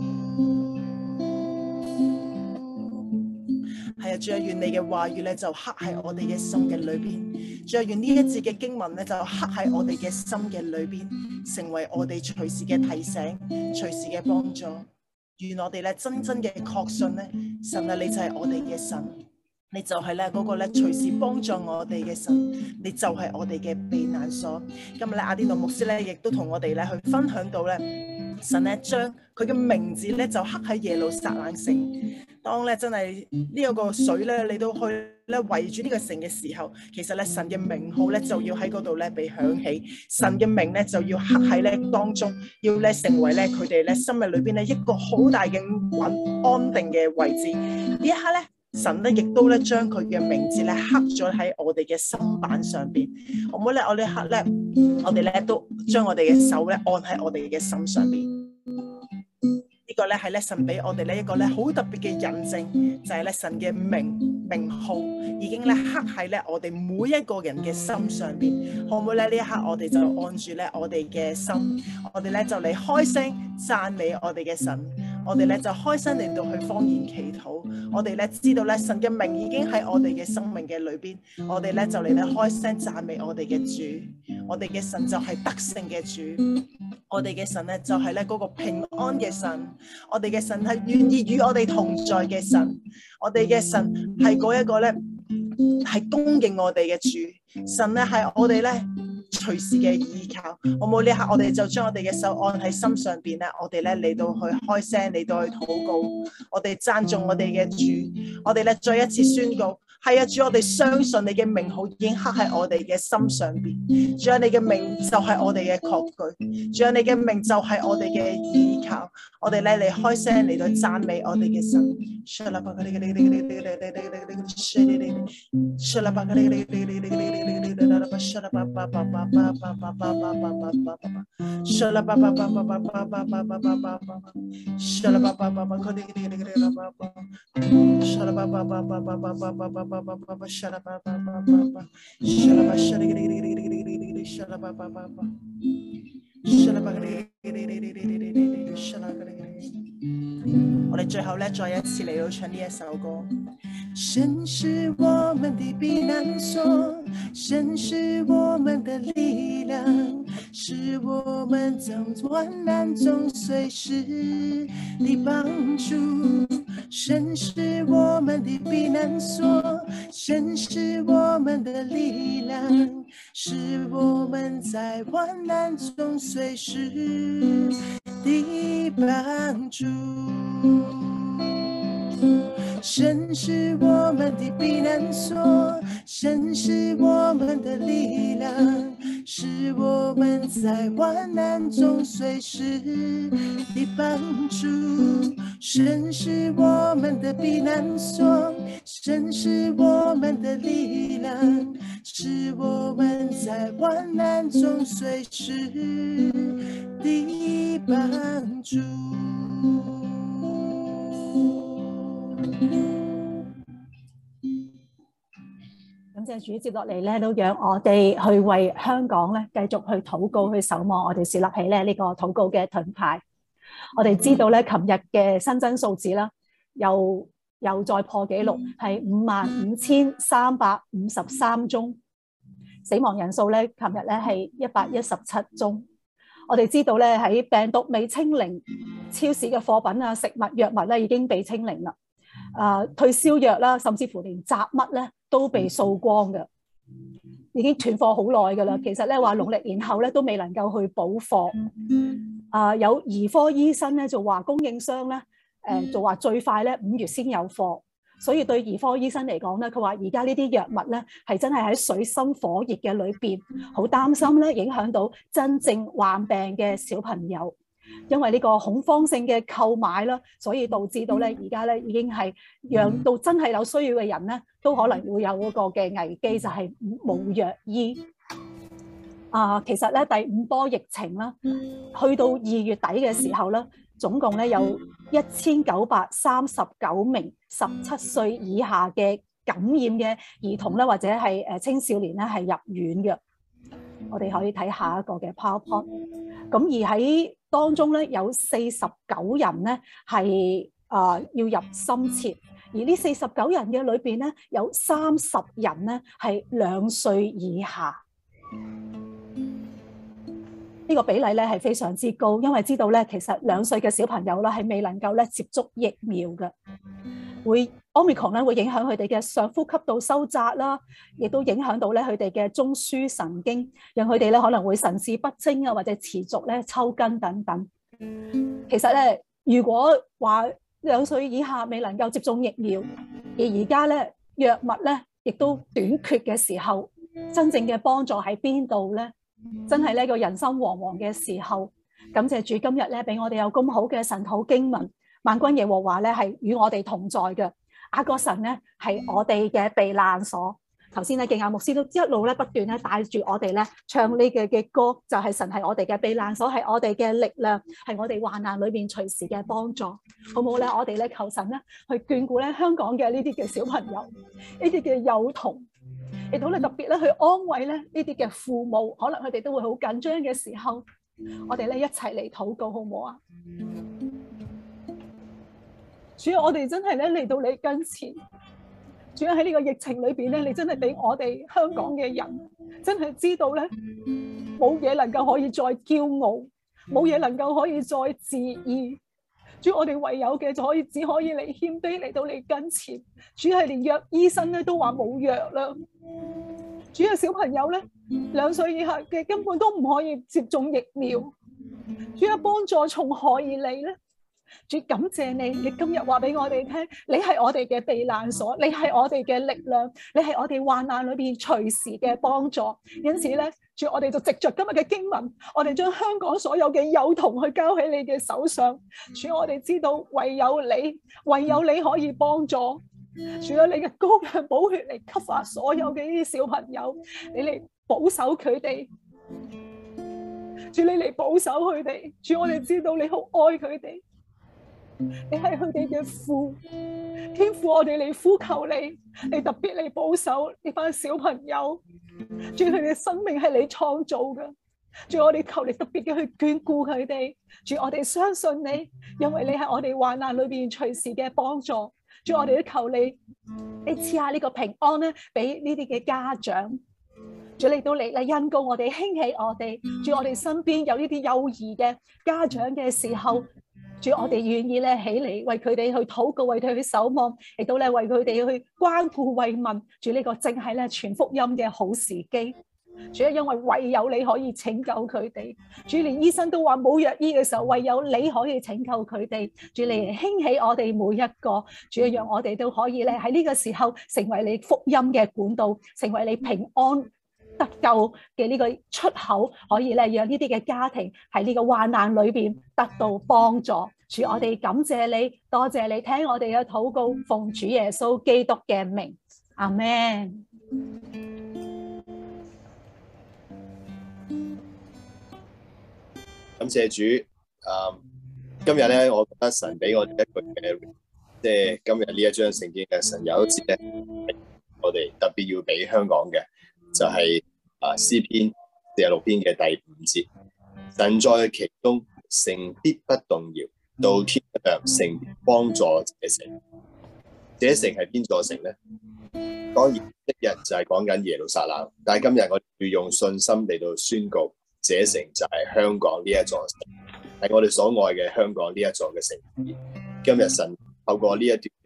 係啊，主啊，願你嘅話語咧就刻喺我哋嘅心嘅裏邊。主啊，願呢一節嘅經文咧就刻喺我哋嘅心嘅裏邊，成為我哋隨時嘅提醒、隨時嘅幫助。願我哋咧真真嘅確信咧，神啊，你就係我哋嘅神，你就係咧嗰個咧隨時幫助我哋嘅神，你就係我哋嘅避難所。今日咧，阿甸奴牧師咧亦都同我哋咧去分享到咧，神咧將佢嘅名字咧就刻喺耶路撒冷城。當咧真係呢一個水咧嚟到去咧圍住呢個城嘅時候，其實咧神嘅名號咧就要喺嗰度咧被響起，神嘅名咧就要刻喺咧當中，要咧成為咧佢哋咧生命裏邊咧一個好大嘅穩安定嘅位置。呢一刻咧，神咧亦都咧將佢嘅名字咧刻咗喺我哋嘅心板上邊。好唔好咧？我呢一刻咧，我哋咧都將我哋嘅手咧按喺我哋嘅心上邊。呢個咧係咧神俾我哋咧一個咧好特別嘅印證，就係咧神嘅名名號已經咧刻喺咧我哋每一個人嘅心上邊。可唔可以咧？呢一刻我哋就按住咧我哋嘅心，我哋咧就嚟開聲讚美我哋嘅神，我哋咧就開聲嚟到去方言祈禱。我哋咧知道咧神嘅名已經喺我哋嘅生命嘅裏邊，我哋咧就嚟咧開聲讚美我哋嘅主。我哋嘅神就係得勝嘅主，我哋嘅神咧就係咧嗰個平安嘅神，我哋嘅神係願意與我哋同在嘅神，我哋嘅神係嗰一個咧係供應我哋嘅主，神咧係我哋咧隨時嘅依靠。好冇？呢刻我哋就將我哋嘅手按喺心上邊咧，我哋咧嚟到去開聲嚟到去禱告，我哋讚頌我哋嘅主，我哋咧再一次宣告。係啊，主，我哋相信你嘅名號已經刻喺我哋嘅心上邊。主啊，你嘅名就係我哋嘅確據。主啊，你嘅名就係我哋嘅依靠。我哋咧嚟開聲嚟到讚美我哋嘅神。我哋最後咧，再一次嚟到唱呢一首歌。神是我們的避難所，神是我們的力量，是我們在患難中隨時的幫助。神是我們的避難所，神是我們的力量，是我們在患難中隨時的幫助。神是我們的避難所，神是我們的力量，是我們在患難中隨時的幫助。神是我們的避難所，神是我們的力量，是我們在患難中隨時的幫助。 感謝主，接落嚟咧，都讓我哋去為香港咧繼續去禱告，去守望。我哋樹立起咧呢個禱告嘅盾牌。我哋知道咧，琴日嘅新增數字啦，又又再破紀錄，係五萬五千三百五十三宗。死亡人數咧，琴日咧係一百一十七宗。我哋知道咧，喺病毒未清零，超市嘅貨品啊、食物、藥物咧已經被清零啦。 啊、呃、退燒藥啦，甚至乎連雜物咧都被掃光嘅，已經斷貨好耐㗎啦。其實咧話農曆年後咧都未能夠去補貨。啊、呃，有兒科醫生咧就話供應商咧，誒、呃、就話最快咧五月先有貨。所以對兒科醫生嚟講咧，佢話而家呢啲藥物咧係真係喺水深火熱嘅裏邊，好擔心咧影響到真正患病嘅小朋友，因為呢個恐慌性嘅購買啦，所以導致到咧而家咧已經係讓到真係有需要嘅人咧都可能會有嗰個嘅危機，就係冇藥醫。啊，其實咧第五波疫情啦，去到二月底嘅時候咧，總共咧有一千九百三十九名十七歲以下嘅感染嘅兒童咧，或者係誒青少年咧係入院嘅。我哋可以睇下一個嘅 PowerPoint。咁而喺當中咧有四十九人咧係啊要入深切，而呢四十九人嘅裏邊咧有三十人咧係兩歲以下。呢個比例咧係非常之高，因為知道咧其實兩歲嘅小朋友咧係未能夠咧接觸疫苗嘅，會 Omicron 咧會影響佢哋嘅上呼吸道收窄啦，亦都影響到咧佢哋嘅中樞神經，讓佢哋咧可能會神志不清啊，或者持續咧抽筋等等。其實咧，如果話兩歲以下未能夠接種疫苗，而而家咧藥物咧亦都短缺嘅時候，真正嘅幫助喺邊度咧？真係呢個人心惶惶嘅時候，感謝主今日咧俾我哋有咁好嘅神土經文，萬軍耶和華咧係與我哋同在嘅，雅各神咧係我哋嘅避難所。頭先咧敬亞牧師都一路咧不斷咧帶住我哋咧唱呢嘅嘅歌，就係、是、神係我哋嘅避難所，係我哋嘅力量，係我哋患難裏邊隨時嘅幫助，好唔好咧？我哋咧求神咧去眷顧咧香港嘅呢啲嘅小朋友，呢啲嘅幼童。亦都咧特別咧去安慰咧呢啲嘅父母，可能佢哋都會好緊張嘅時候，我哋咧一齊嚟禱告，好唔好啊？主要我哋真係咧嚟到你跟前，主要喺呢個疫情裏邊咧，你真係俾我哋香港嘅人真係知道咧，冇嘢能夠可以再驕傲，冇嘢能夠可以再自義。主，我哋唯有嘅就可以只可以嚟謙卑嚟到你跟前。主係連藥醫生咧都話冇藥啦。主嘅小朋友咧，兩歲以下嘅根本都唔可以接種疫苗。主嘅幫助從何而嚟咧？主感謝你，你今日話俾我哋聽，你係我哋嘅避難所，你係我哋嘅力量，你係我哋患難裏邊隨時嘅幫助。因此咧，主我哋就藉着今日嘅經文，我哋將香港所有嘅幼童去交喺你嘅手上。主，我哋知道唯有你，唯有你可以幫助。主啊，你嘅膏藥寶血嚟吸發所有嘅呢啲小朋友，你嚟保守佢哋。主，你嚟保守佢哋。主，我哋知道你好愛佢哋。你係佢哋嘅父，天父，我哋嚟呼求你，你特別嚟保守呢班小朋友。主，佢哋嘅生命係你創造嘅，主，我哋求你特別嘅去眷顧佢哋。主，我哋相信你，因為你係我哋患難裏邊隨時嘅幫助。主，我哋都求你，你賜下呢個平安咧，俾呢啲嘅家長。主，你都嚟嚟恩膏我哋，興起我哋。主，我哋身邊有呢啲幼兒嘅家長嘅時候。主，我哋願意咧起嚟為佢哋去禱告，為佢哋去守望，亦都咧為佢哋去關顧慰問。主，呢個正係咧傳福音嘅好時機。主啊，因為唯有你可以拯救佢哋。主，連醫生都話冇藥醫嘅時候，唯有你可以拯救佢哋。主，你嚟興起我哋每一個。主啊，讓我哋都可以咧喺呢個時候成為你福音嘅管道，成為你平安得救嘅呢個出口，可以咧讓呢啲嘅家庭喺呢個患難裏邊得到幫助。主，我哋感謝你，多謝你聽我哋嘅禱告，奉主耶穌基督嘅名，阿們。 感謝主。啊，今日咧，我覺得神俾我哋一句嘅，即係今日呢一章聖經嘅神有一節咧，我哋特別要俾香港嘅。就係、是、啊詩篇四十六篇嘅第五節，神在其中，城必不動搖，到天上城幫助這城。這城係邊座城咧？當然一日就係講緊耶路撒冷，但係今日我哋要用信心嚟到宣告，這城就係香港呢一座城，係我哋所愛嘅香港呢一座嘅城市。今日神透過呢一段嘅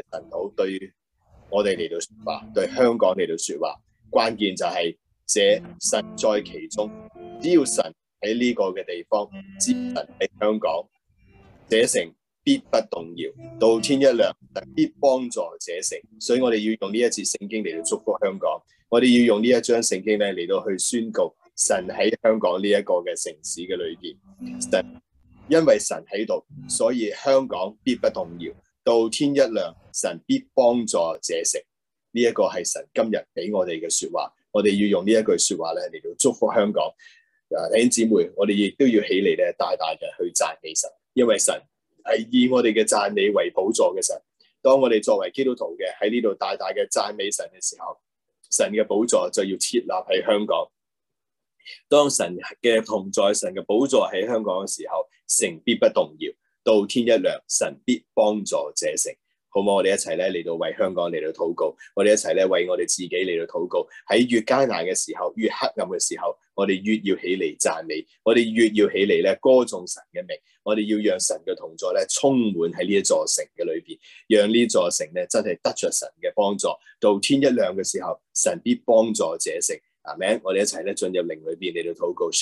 神土對我哋嚟到說話，對香港嚟到說話。關鍵就係這神在其中，只要神喺呢個嘅地方，只要神喺香港，這城必不動搖，到天一亮，神必幫助這城。所以我哋要用呢一節聖經嚟到祝福香港，我哋要用呢一章聖經咧嚟到去宣告神喺香港呢一個嘅城市嘅裏邊，神因為神喺度，所以香港必不動搖，到天一亮，神必幫助這城。呢一個係神今日俾我哋嘅說話，我哋要用呢一句說話咧嚟到祝福香港。啊，弟兄姊妹，我哋亦都要起嚟咧，大大嘅去讚美神，因為神係以我哋嘅讚美為寶座嘅神。當我哋作為基督徒嘅喺呢度大大嘅讚美神嘅時候，神嘅寶座就要設立喺香港。當神嘅同在，神嘅寶座喺香港嘅時候，城必不動搖，到天一亮，神必幫助這城。好唔好？我哋一齊咧嚟到為香港嚟到禱告，我哋一齊咧為我哋自己嚟到禱告。喺越艱難嘅時候，越黑暗嘅時候，我哋越要起嚟讚美，我哋越要起嚟咧歌頌神嘅名。我哋要讓神嘅同在咧充滿喺呢一座城嘅裏邊，讓呢座城咧真係得着神嘅幫助。到天一亮嘅時候，神必幫助這城。阿們，我哋一齊咧進入靈裏邊嚟到禱告。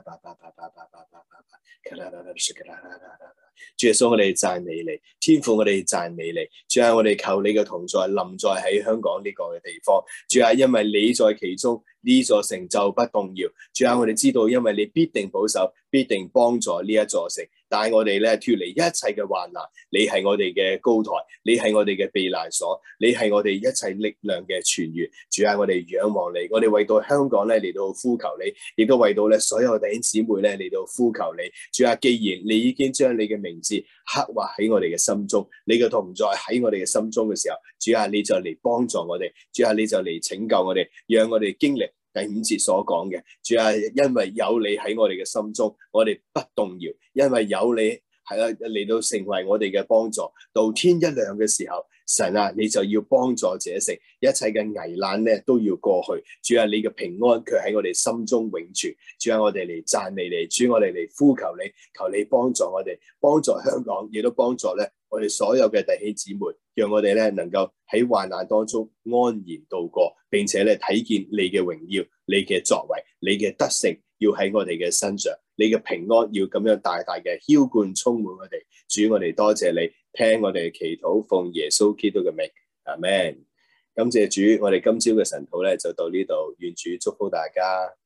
主耶穌，我哋讚美你，天父我哋讚美你。主啊，我哋求你嘅同在臨在喺香港呢個嘅地方。主啊，因為你在其中，呢座城就不動搖。主啊，我哋知道，因為你必定保守，必定幫助呢一座城。帶我哋咧脫離一切嘅患難，你係我哋嘅高台，你係我哋嘅避難所，你係我哋一切力量嘅泉源。主啊，我哋仰望你，我哋為到香港咧嚟到呼求你，亦都為到咧所有弟兄姊妹咧嚟到呼求你。主啊，既然你已經將你嘅名字刻畫喺我哋嘅心中，你嘅同在喺我哋嘅心中嘅時候，主啊，你就嚟幫助我哋，主啊，你就嚟拯救我哋，讓我哋經歷第五節所講嘅。主啊，因為有你喺我哋嘅心中，我哋不動搖，因為有你係啦嚟到成為我哋嘅幫助。到天一亮嘅時候，神啊，你就要幫助這城，一切嘅危難咧都要過去。主啊，你嘅平安卻喺我哋心中永存。主啊，我哋嚟讚美你，主，我哋嚟呼求你，求你幫助我哋，幫助香港，亦都幫助咧我哋所有嘅弟兄姊妹，讓我哋咧能夠喺患難當中安然度過，並且咧睇見你嘅榮耀，你嘅作為，你嘅德性要喺我哋嘅身上，你嘅平安要咁樣大大嘅澆灌充滿我哋。主，我哋多謝你，聽我哋嘅祈禱，奉耶穌基督嘅名，阿們。感謝主，我哋今朝嘅晨禱咧就到呢度，願主祝福大家。